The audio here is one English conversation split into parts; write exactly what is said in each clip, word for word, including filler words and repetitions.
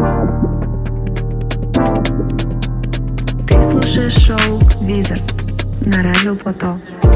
Ты слушаешь шоу Wizard на радио Плато.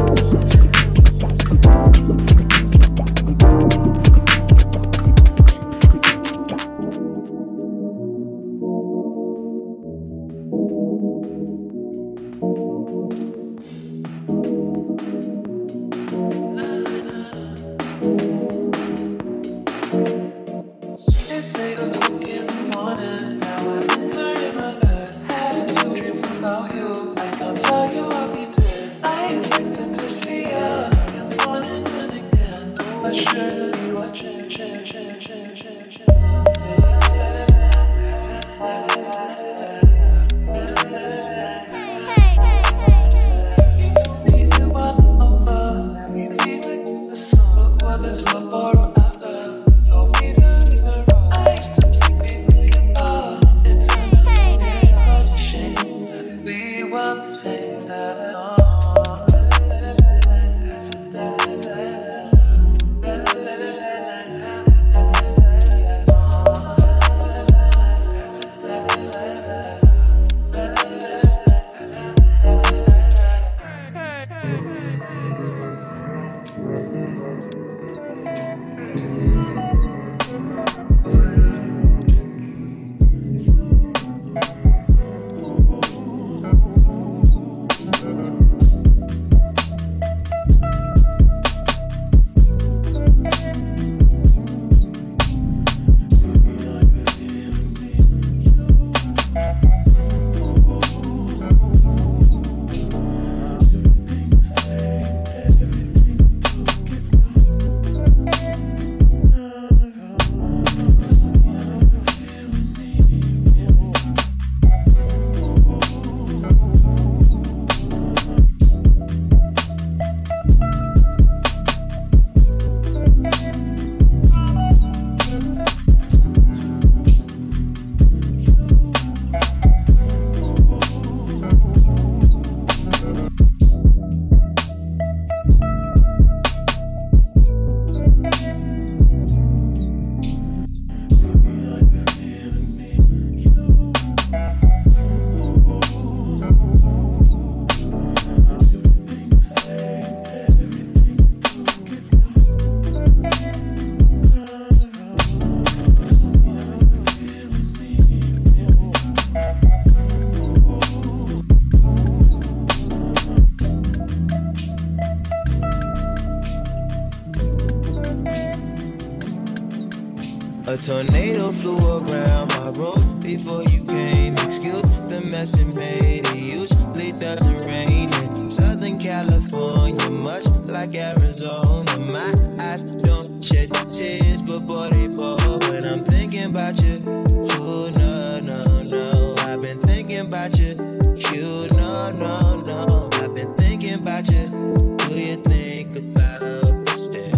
A tornado flew around my room before you came. Excuse the mess it made. It usually doesn't rain in Southern California, much like Arizona. My eyes don't shed tears, but boy they pour when I'm thinking about you. Oh no, no, no, I've been thinking about you. You no, no, no, I've been thinking about you. Do you think about me still?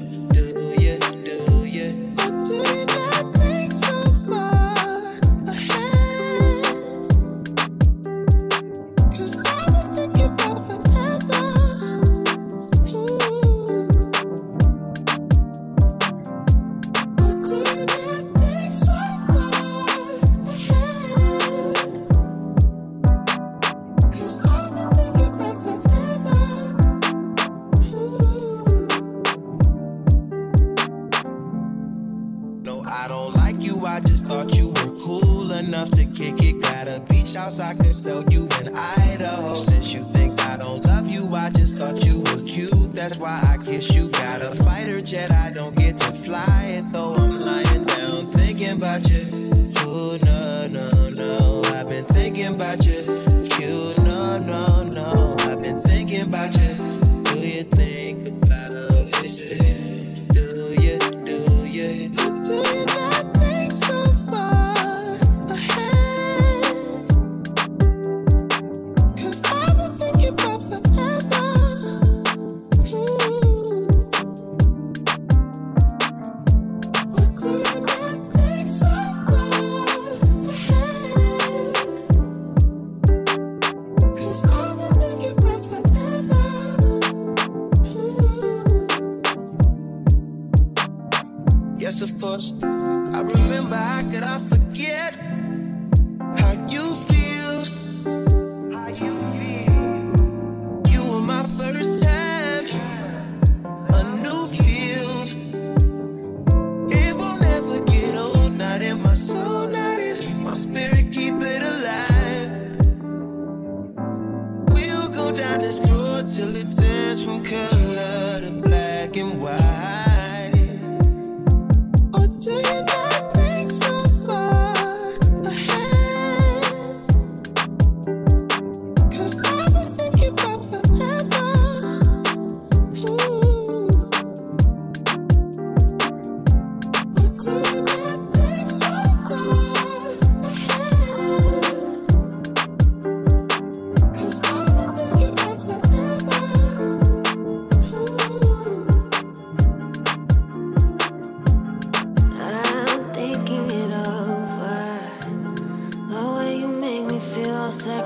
Do you, do you? Or do you not think so far ahead? 'Cause I've been thinking about forever. Ooh. Or do you not think so far ahead? 'Cause I've been thinking about forever. Ooh. No, I don't like you, I just thought you were cool enough to kick it. Got a beach house, I could sell you in Idaho. Since you think I don't love you, I just thought you were cute. That's why I kiss you. Got a fighter jet, I don't get to fly it though. I'm lying down thinking about you. Oh no, no, no, I've been thinking about you. You no, no, no, I've been thinking about you. Do you think about me still? Do you, do you? Do you not think so far ahead? 'Cause I've been thinking about forever. Ooh. But do you not think so far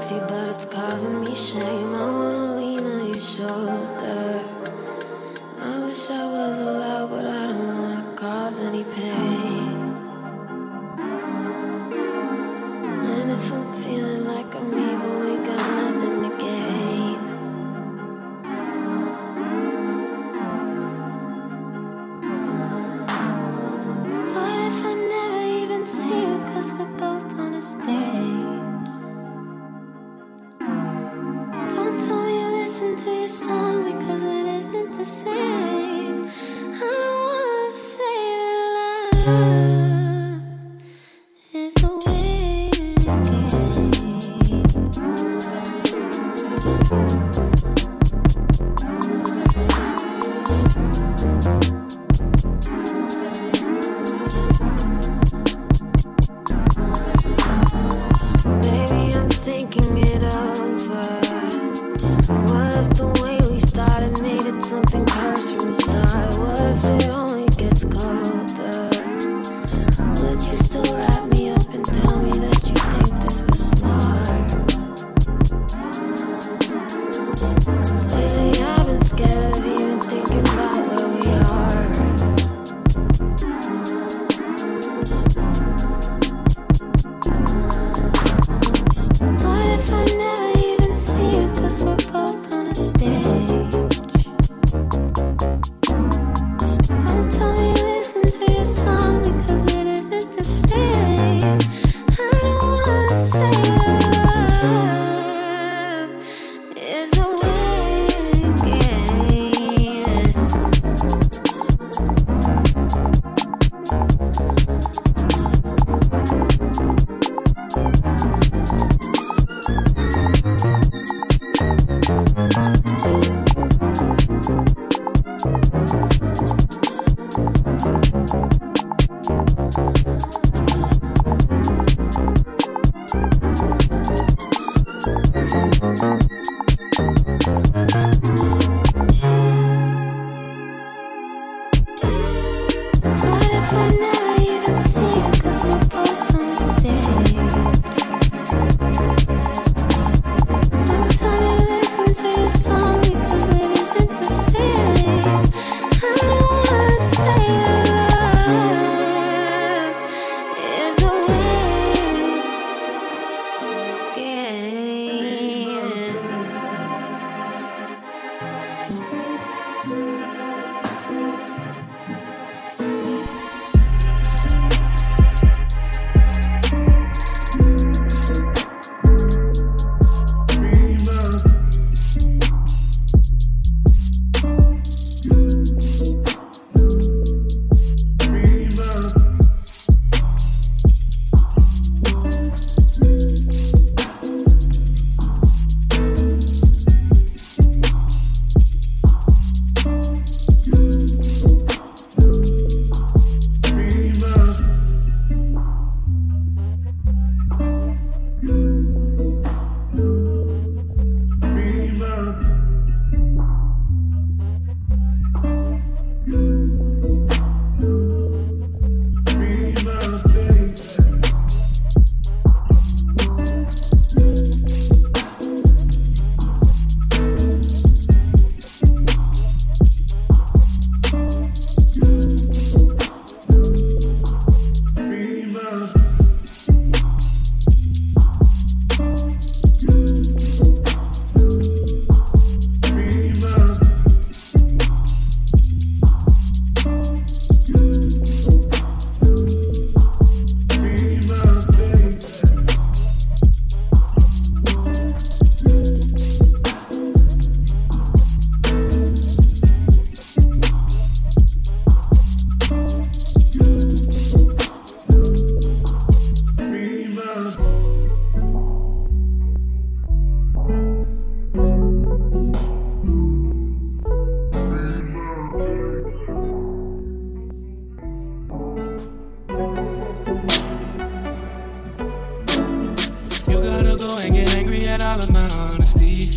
sexy, but it's causing me shame. I wanna lean on your shoulder. I wish I was allowed, but I don't wanna cause any pain. And if I'm feeling like I'm evil, we got nothing to gain. What if I never even see you, cause we're both on a stage? Don't tell me listen to your song, because it isn't the same. I don't wanna say that love is a waiting game. Baby, I'm thinking it over. What if the way we started made it something cursed from the start? What if it only gets colder? Would you still wrap me up and tell me that you think this was smart? 'Cause lately I've been scared of even thinking about where we are. What if I never even see you, cause we're both on a stage? Don't tell me listen to your song, because it isn't the same. I don't wanna say love is a waiting game. What if I never even see you, cause we're both on the stage? Don't tell me listen to your song, because it isn't the same. I don't wanna say love is a waiting game. all of my honesty.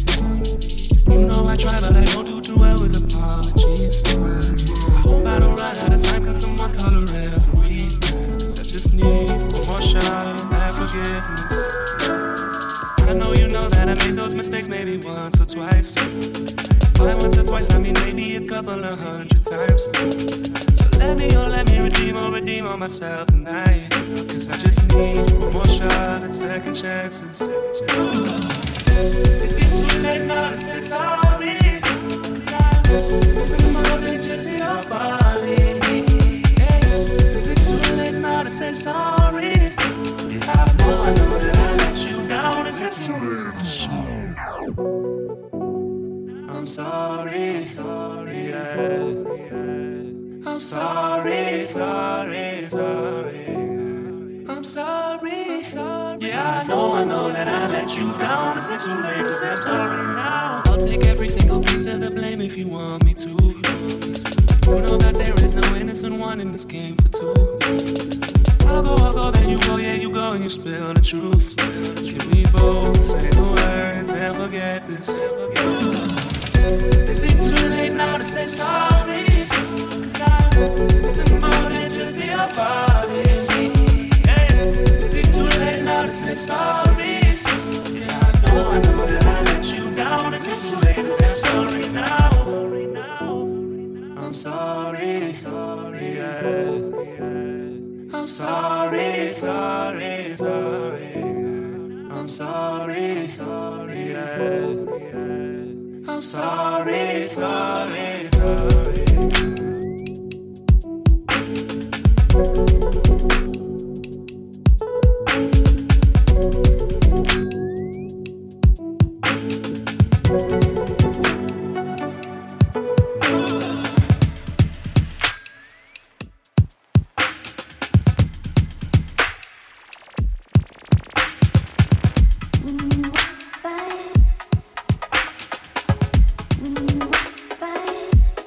You know I try, but I don't do too well with apologies. I hope I don't run out of time, can someone call a referee? Cause I just need one more shot at forgiveness. I know you know know that I made those mistakes maybe once or twice. By once or twice, I mean maybe a couple of hundred times. So let me, oh let me redeem or redeem on myself tonight. Cause I just need one more shot at second chances. Is it too late now to say sorry? Cause I'm missing more than just your body. Hey, is it too late now to say sorry? Yeah, I know, I know that I let you down. Is it too late? I'm sorry, sorry, yeah. I'm sorry, sorry, sorry. I'm sorry, sorry. Yeah, I know, I know that I let you down. Is it too late to say I'm sorry now? I'll take every single piece of the blame if you want me to. You know that there is no innocent one in this game for two. I'll go, I'll go, then you go, yeah, you go and you spill the truth. Can we both say the words and forget this? Is it too late now to say sorry? Cause I'm missing more than just your body. Is it too late now to say sorry? Yeah, I know, I know that I let you down. Is it too late to say I'm sorry now? I'm sorry, sorry, yeah. I'm sorry, sorry, sorry. I'm sorry, sorry, yeah. I'm sorry, sorry, sorry. Bye.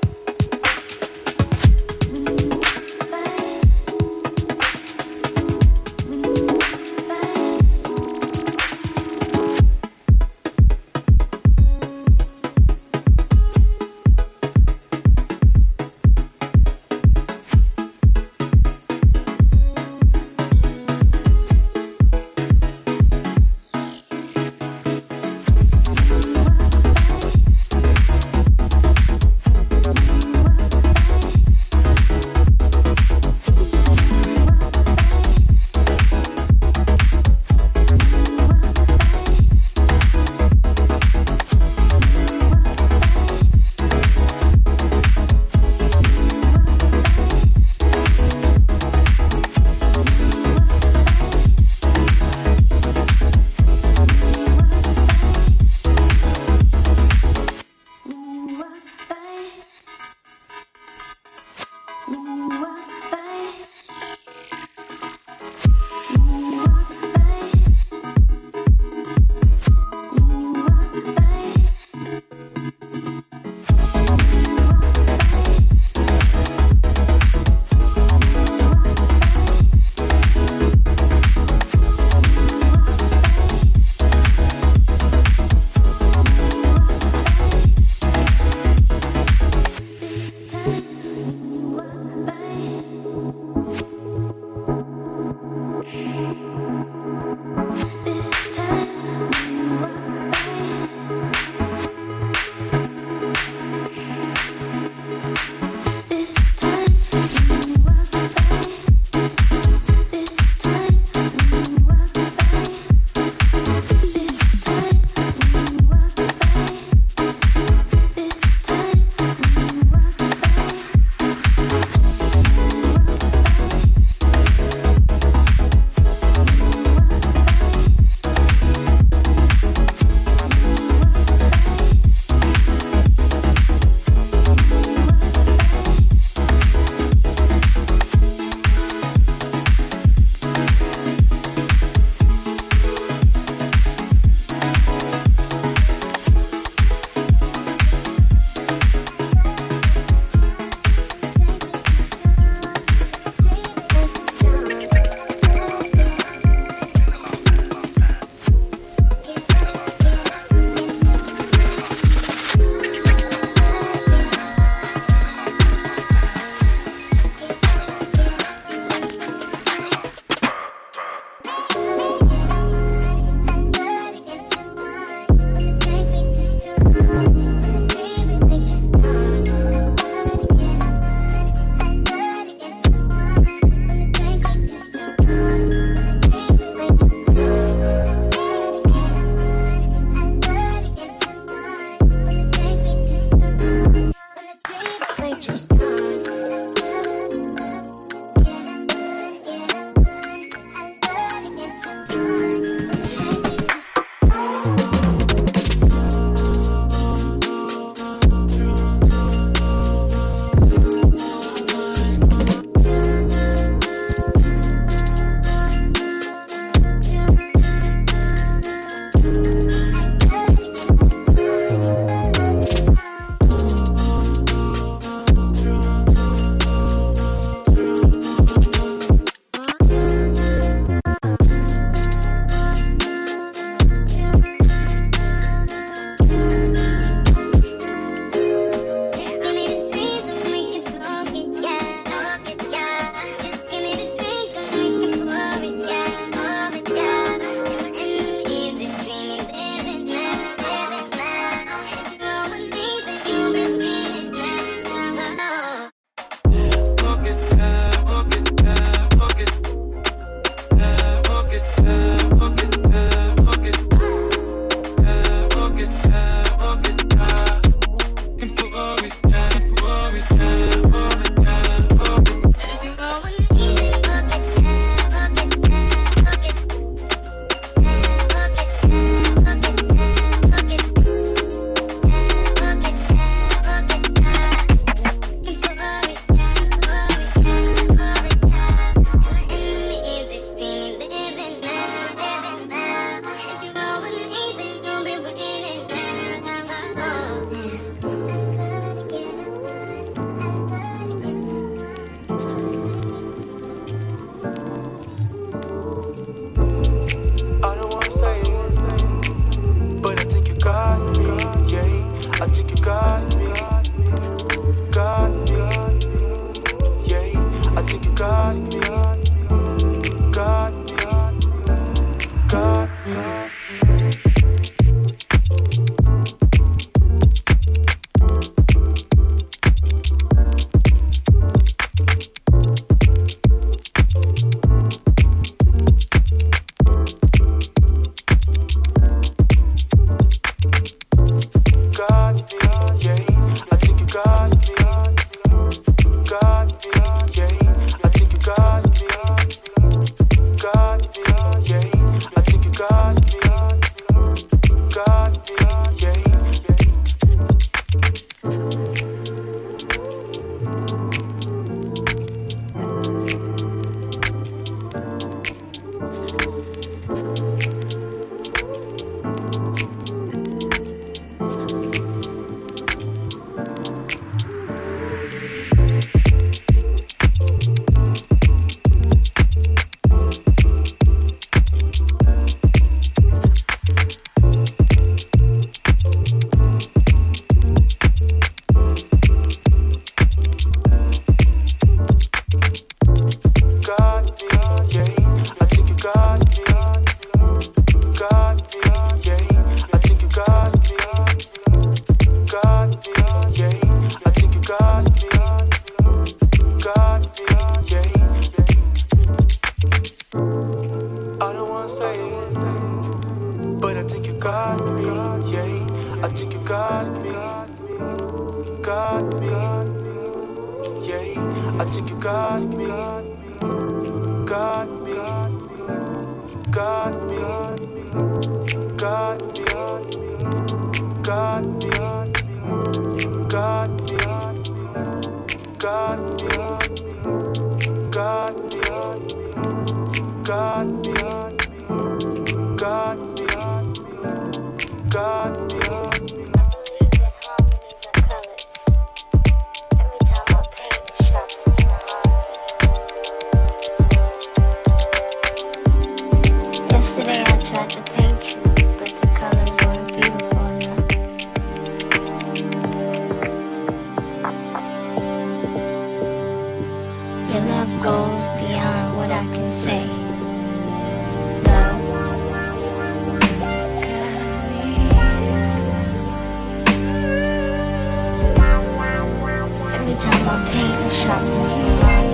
say, but I think you got me, yeah. I think you got me, got me, yeah. I think you got me, got me, got me, got me, got me, got me, got me, got me, got me, got me, got me. Yesterday I tried to paint you, but the colors weren't beautiful enough. Your love goes beyond what I can say. Love. Every time I paint, it sharpens my heart.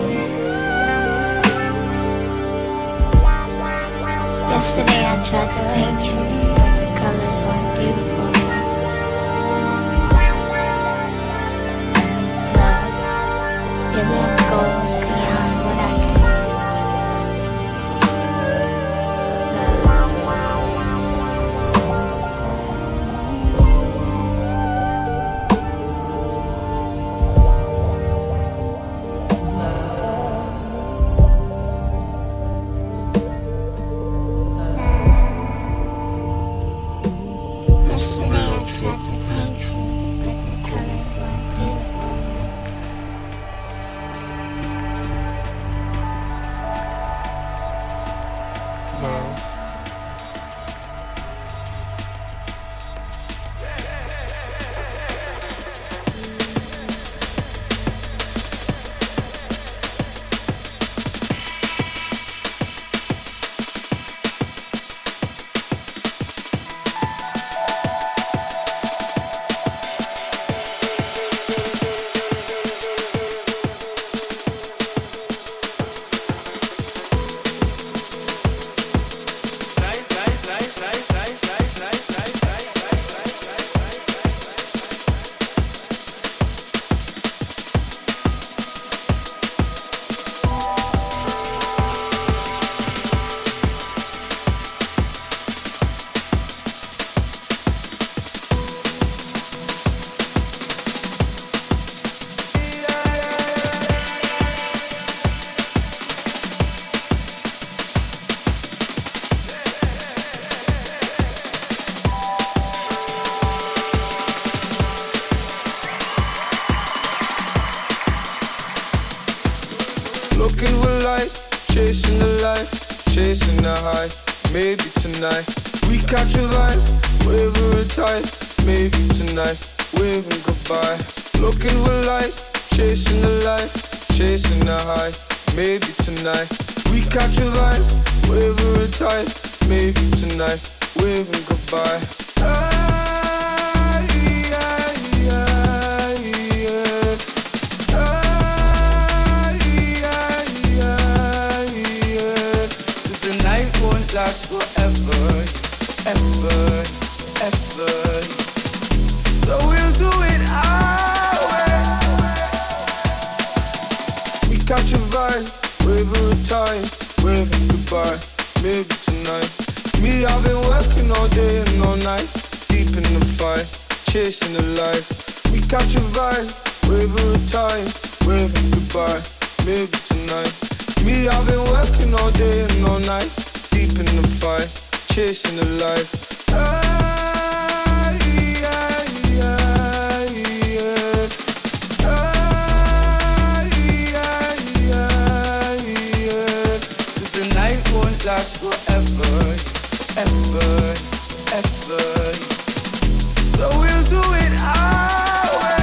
Yesterday I tried to paint you, but the colors weren't beautiful enough. Love, your love goes beyond what I can. Yesterday I tried to paint you, but the colors weren't beautiful enough. Love. Looking for light, chasing the light, chasing the high. Maybe tonight we catch a vibe, waving tight. Maybe tonight waving goodbye. Looking for light, chasing the light, chasing the high. Maybe tonight we catch a vibe, waving tight. Maybe tonight waving goodbye. Last forever, ever, ever. So we'll do it our way. We catch a vibe, waving time, waving goodbye. Maybe tonight. Me, I've been working all day and all night, deep in the fight, chasing the light. We catch a vibe, waving time, waving goodbye. Maybe tonight. Me, I've been working all day and all night, deep in the fight, chasing the light. Ah, yeah, yeah, yeah. Ah, yeah, yeah, yeah. Cause the night won't last forever, ever, ever. So we'll do it our way.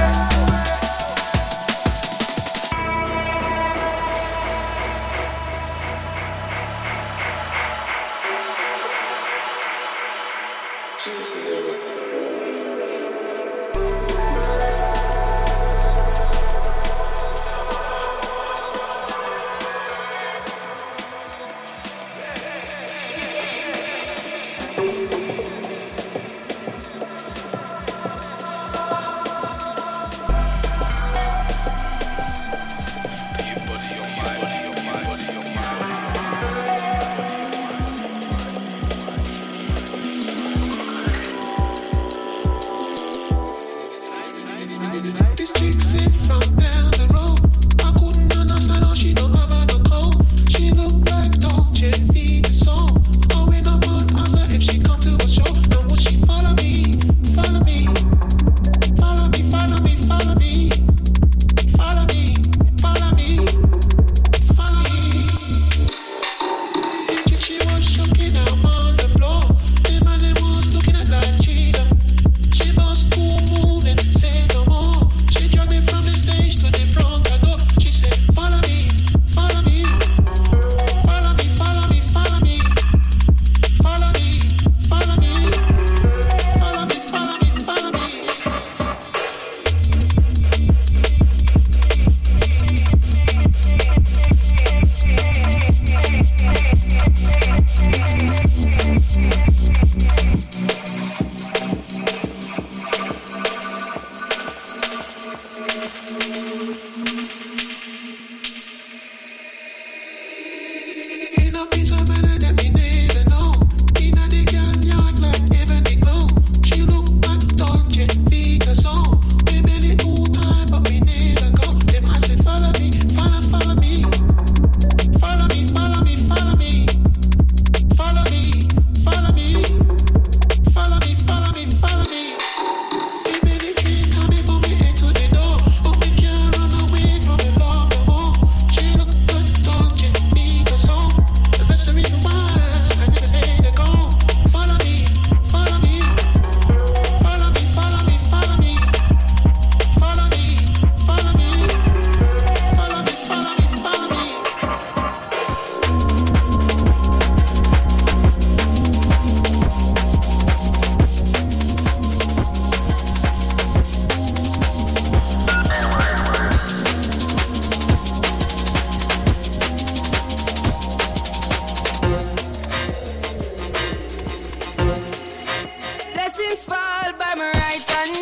blessings fall by my right hand.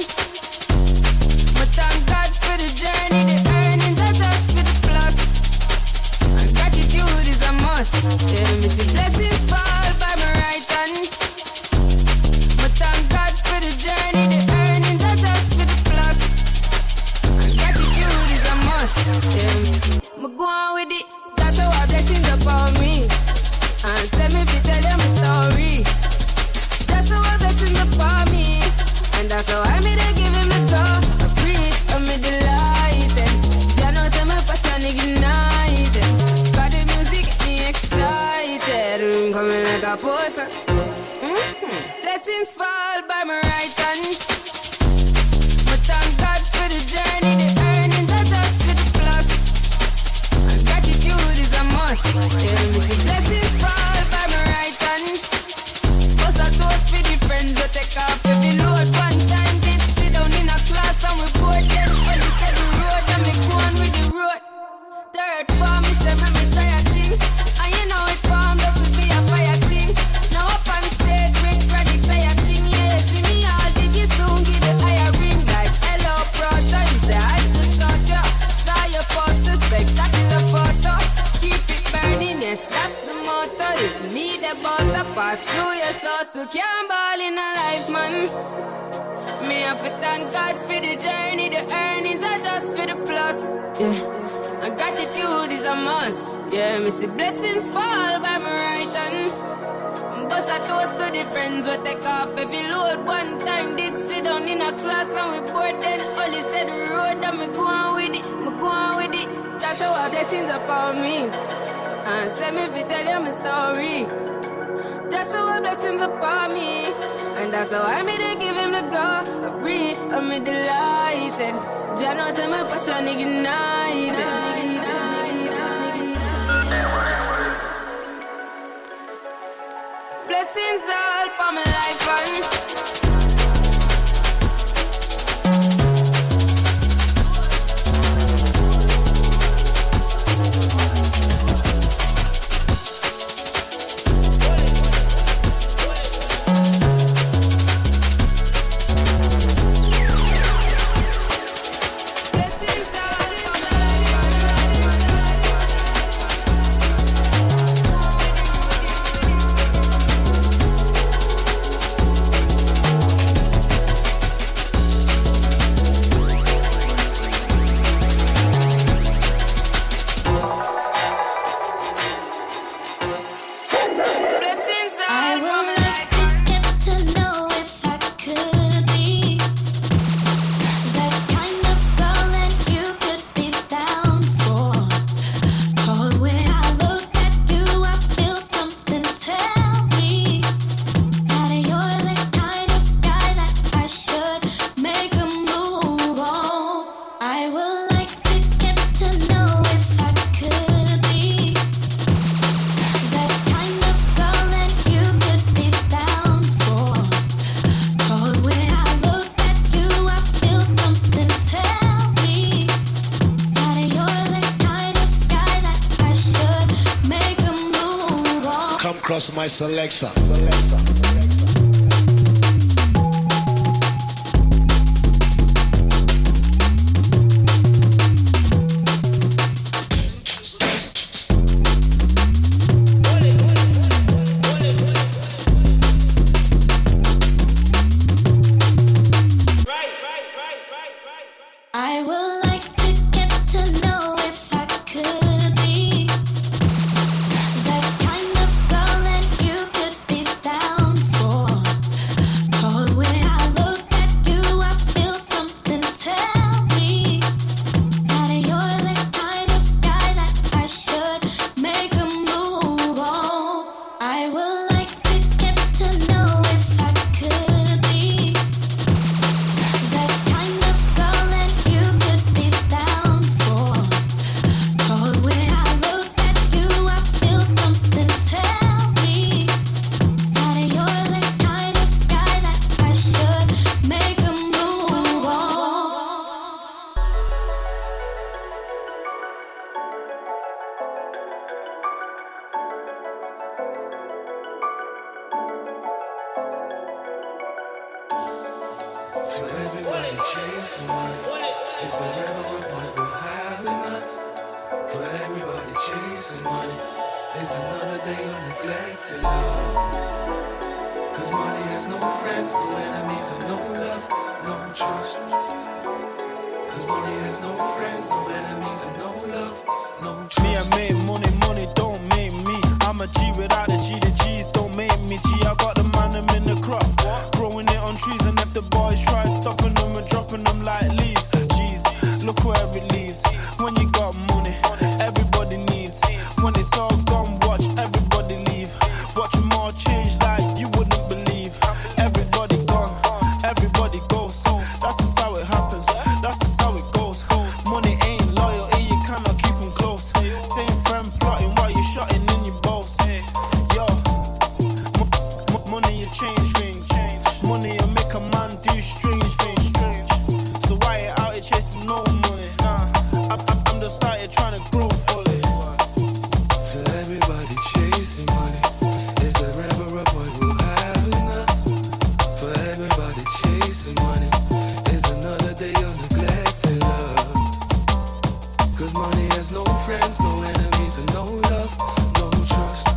But thank God for the journey, the earnings are just for the plus. And gratitude is a must. Yeah, me see blessings fall by my right hand. But thank God for the journey, the earnings are just for the plus. And gratitude is a must. Yeah, me go on with it. That's how our blessings upon me. And send me to tell you my story. That's how our blessings upon me. And that's how I made to give him the draw. I breathe, I'm delighted. You know, say my passion ignited. Got the music, get me excited. I'm coming like a potion. Mm-hmm. Blessings fall by my right hand. But thank God for the journey, the earnings are just for the plus. And gratitude is a must. Yeah, me see blessings fall by my right hand. Bust a toast for the friends that take off every load. One time did sit down in a class and we bored them. When they said the road and me go on with the road. Third form, me say me me try a thing. And you know it formed up to be a fire thing. Now up on stage, break credit, say a thing. Yeah, see me all did you soon get the higher ring. Like hello, brother, you say I just shot ya. Saw your poster, spectacular photo. Keep it burning, yes, that's the motto. If me the butter pass through your soul to can't ball in a life, man. Me have to thank God for the journey, the earnings are just for the plus. Yeah, and gratitude is a must. Yeah, me see blessings fall by my right hand. Bust a toast to the friends we take off every load. One time did sit down in a class and we bored then. Only said the road and me go on with it, me go on with it. That's how our blessings upon me. And send me to tell you my story. Just show our blessings upon me. And that's how I made to give him the glory. I breathe, I'm delighted. Jah knows say my passion ignited. Blessings all for my life and Cross my selection. That kind of girl that you could be down for. chasing money. Is there ever a point we'll have enough? For everybody chasing money. It's another day of neglected love. Cause money has no friends, no enemies, and no love, no trust. Cause money has no friends, no enemies, and no love, no trust. Me, I make money, money don't make me. I'm a G without the G, the G's don't make me G. I got the man, I'm in the crop, growing it on trees. And if the boys try stopping them and dropping them like leaves, G's, look where it leads. When you got money, everybody needs. When it's all gone, watch everybody leave. Watch them all change like you wouldn't believe. Everybody gone, everybody goes. That's just how it happens, that's just how it goes. Money ain't loyalty, you cannot keep them close. Same friend plotting while you're shotting in your boats. Yo, m- m- money you change things. Money you make a man do strange things. So why you out here chasing no money? Nah, I'm, I'm, I'm just out here trying to grow fully. To everybody chasing money, is there ever a point we'll have enough? For everybody chasing money, is another day of neglected love. Cause money has no friends, no enemies, and no love, no trust.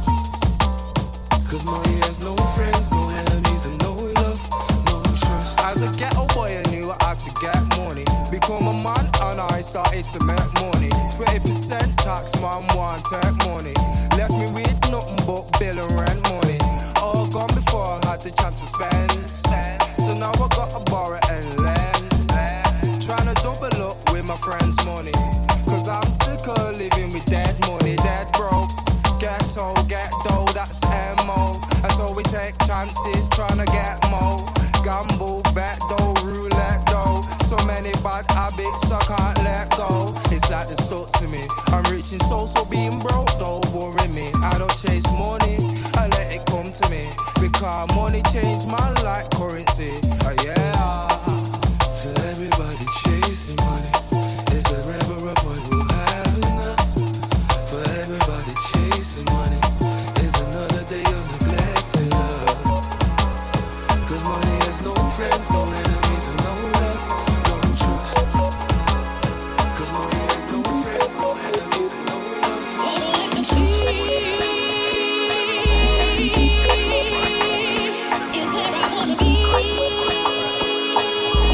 Cause money has no friends, no enemies, and no love, no trust. As a ghetto boy, I knew I had to get money. Become a man and I started to make money. twenty percent tax, man, want take money. Left me with nothing but bill and rent money. All gone before I had the chance to spend. So now I gotta borrow and lend. Trying to double up with my friends' money. Cause I'm sick of living with dead money, dead broke. Ghetto, get dough, that's M O. And so we take chances, trying to get more. Gamble, bet dough, roulette dough. So many bad habits I can't let go. It's like they're stuck to me. I'm reaching so, so being broke don't worry me. I don't chase money, I let it come to me. Because money change my life currency. Oh yeah. To everybody chasing money, is there ever a point we'll have enough? For everybody chasing money, is another day of neglected love. Cause money has no friends, no enemies, and no love, no trust. Cause money has no friends, no enemies, and no love, no trust. Is where I wanna be.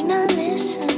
not listen.